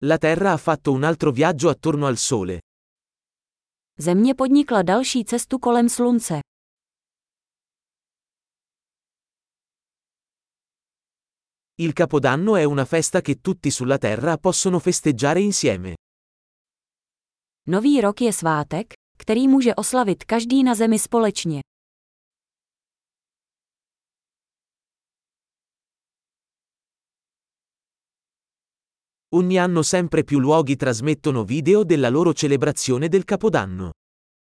La Terra ha fatto un altro viaggio attorno al Sole. Země podnikla další cestu kolem Slunce. Il Capodanno è una festa che tutti sulla Terra possono festeggiare insieme. Nový rok je svátek, který může oslavit každý na Zemi společně. Ogni anno sempre più luoghi trasmettono video della loro celebrazione del Capodanno.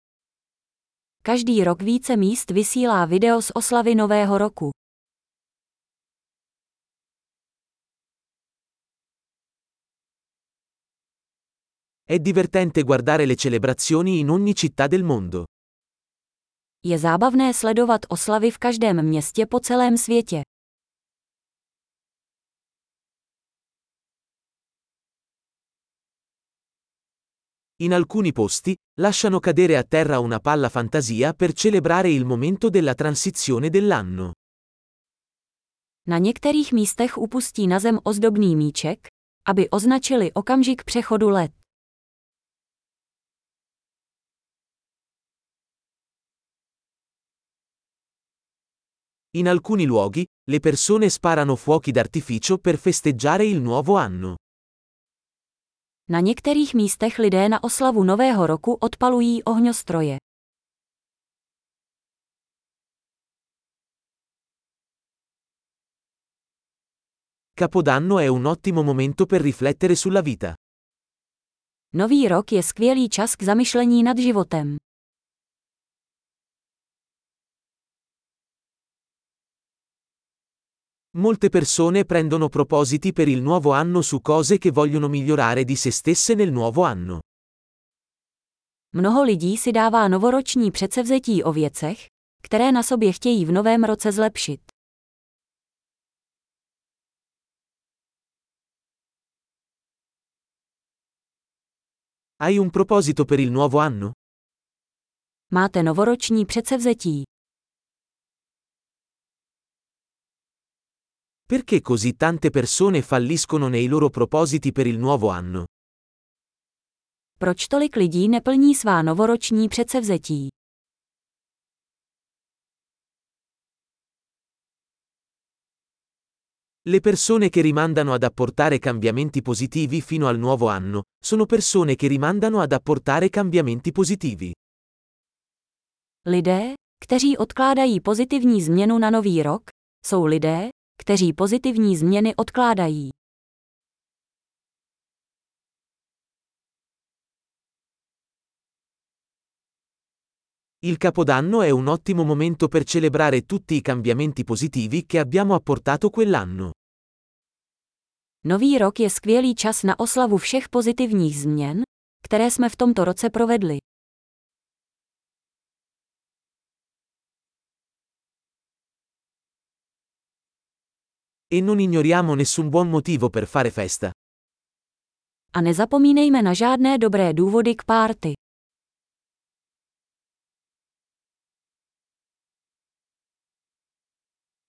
Každý rok více míst vysílá video z oslavy Nového roku. È divertente guardare le celebrazioni in ogni città del mondo. Je zábavné sledovat oslavy v každém městě po celém světě. In alcuni posti, lasciano cadere a terra una palla fantasia per celebrare il momento della transizione dell'anno. Na některých místech upustí na zem ozdobný míček, aby označili okamžik přechodu let. In alcuni luoghi, le persone sparano fuochi d'artificio per festeggiare il nuovo anno. Na některých místech lidé na oslavu Nového roku odpalují ohňostroje. Capodanno è un ottimo momento per riflettere sulla vita. Nový rok je skvělý čas k zamyšlení nad životem. Molte persone prendono propositi per il nuovo anno su cose che vogliono migliorare di se stesse nel nuovo anno. Mnoho lidí si dává novoroční předsevzetí o věcech, které na sobě chtějí v novém roce zlepšit. Hai un proposito per il nuovo anno? Máte novoroční předsevzetí. Perché così tante persone falliscono nei loro propositi per il nuovo anno? Proč tolik lidí neplní svá novoroční předsevzetí? Le persone che rimandano ad apportare cambiamenti positivi fino al nuovo anno, sono persone che rimandano ad apportare cambiamenti positivi. Lidé, kteří odkládají pozitivní změnu na nový rok, jsou lidé, kteří pozitivní změny odkládají. Il Capodanno è un ottimo momento per celebrare tutti i cambiamenti positivi che abbiamo apportato quell'anno. Nový rok je skvělý čas na oslavu všech pozitivních změn, které jsme v tomto roce provedli. E non ignoriamo nessun buon motivo per fare festa. A nezapomínejme na žádné dobré důvody k párty.